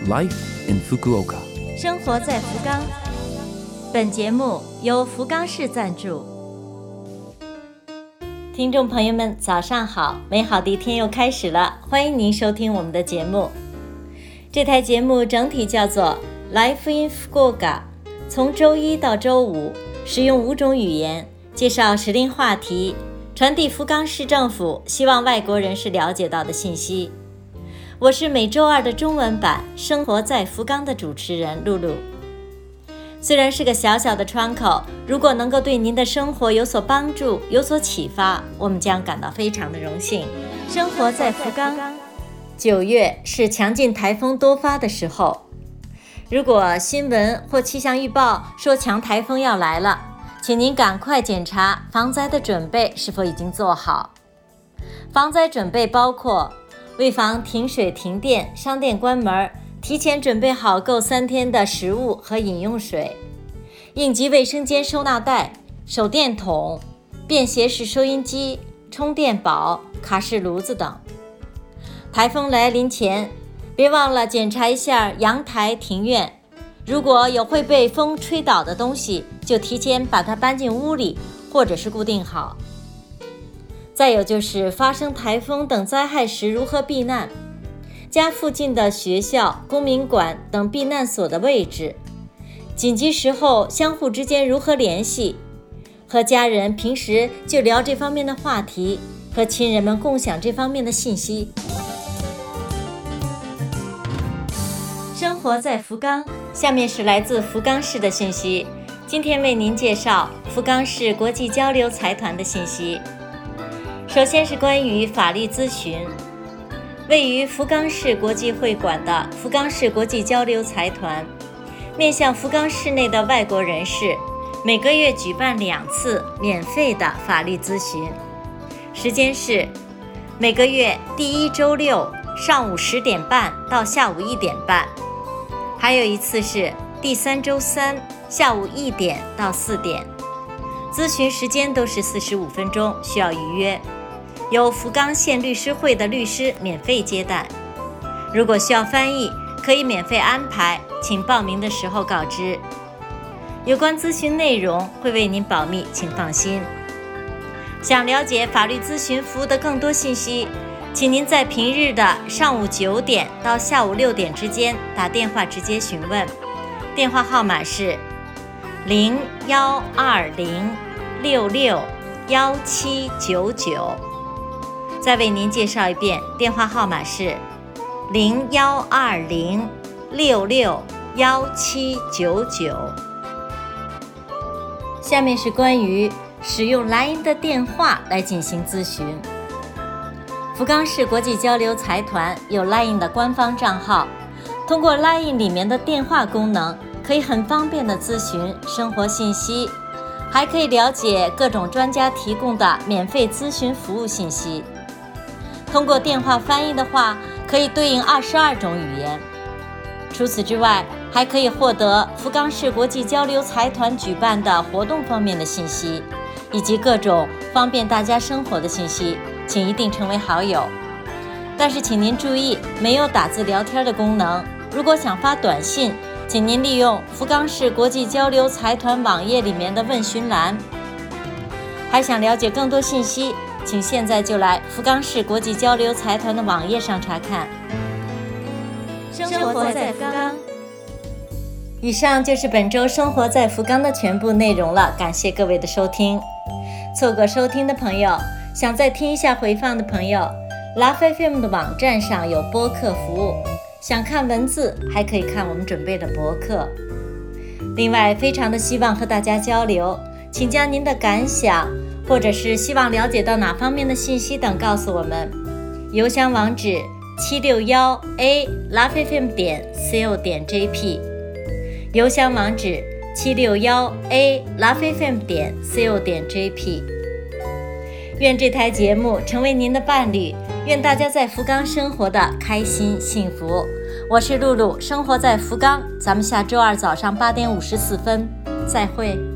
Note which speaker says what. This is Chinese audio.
Speaker 1: Life in Fukuoka。
Speaker 2: 生活在福冈。本节目由福冈市赞助。听众朋友们，早上好！美好的一天又开始了，欢迎您收听我们的节目。这台节目整体叫做 Life in Fukuoka， 从周一到周五，使用5种语言，介绍时令话题，传递福冈市政府希望外国人士了解到的信息。我是每周二的中文版生活在福冈的主持人露露。虽然是个小小的窗口，如果能够对您的生活有所帮助，有所启发，我们将感到非常的荣幸。生活在福冈。9月是强劲台风多发的时候，如果新闻或气象预报说强台风要来了，请您赶快检查防灾的准备是否已经做好。防灾准备包括为防停水停电、商店关门，提前准备好够3天的食物和饮用水，应急卫生间收纳袋、手电筒、便携式收音机、充电宝、卡式炉子等。台风来临前，别忘了检查一下阳台、庭院，如果有会被风吹倒的东西，就提前把它搬进屋里，或者是固定好。再有就是发生台风等灾害时如何避难，家附近的学校、公民馆等避难所的位置，紧急时候相互之间如何联系，和家人平时就聊这方面的话题，和亲人们共享这方面的信息。生活在福冈，下面是来自福冈市的信息。今天为您介绍福冈市国际交流财团的信息。首先是关于法律咨询。位于福冈市国际会馆的福冈市国际交流财团，面向福冈市内的外国人士，每个月举办2次免费的法律咨询，时间是每个月第1周六上午10点半到下午1点半，还有一次是第3周3下午1点到4点。咨询时间都是45分钟，需要预约。由福冈县律师会的律师免费接待，如果需要翻译，可以免费安排，请报名的时候告知。有关咨询内容会为您保密，请放心。想了解法律咨询服务的更多信息，请您在平日的上午9点到下午6点之间打电话直接询问，电话号码是0120661799。再为您介绍一遍，电话号码是0120661799。下面是关于使用 LINE 的电话来进行咨询。福冈市国际交流财团有 LINE 的官方账号，通过 LINE 里面的电话功能，可以很方便的咨询生活信息，还可以了解各种专家提供的免费咨询服务信息。通过电话翻译的话，可以对应22种语言。除此之外，还可以获得福冈市国际交流财团举办的活动方面的信息，以及各种方便大家生活的信息，请一定成为好友。但是请您注意，没有打字聊天的功能。如果想发短信，请您利用福冈市国际交流财团网页里面的问询栏。还想了解更多信息，请现在就来福冈市国际交流财团的网页上查看。生活在福冈。以上就是本周生活在福冈的全部内容了，感谢各位的收听。错过收听的朋友，想再听一下回放的朋友， Love FM 的网站上有播客服务，想看文字还可以看我们准备的博客。另外非常的希望和大家交流，请将您的感想或者是希望了解到哪方面的信息等告诉我们。邮箱网址761a@lovefm.co.jp， 邮箱网址761a@lovefm.co.jp。 愿这台节目成为您的伴侣，愿大家在福冈生活的开心幸福。我是露露，生活在福冈，咱们下周二早上8点54分再会。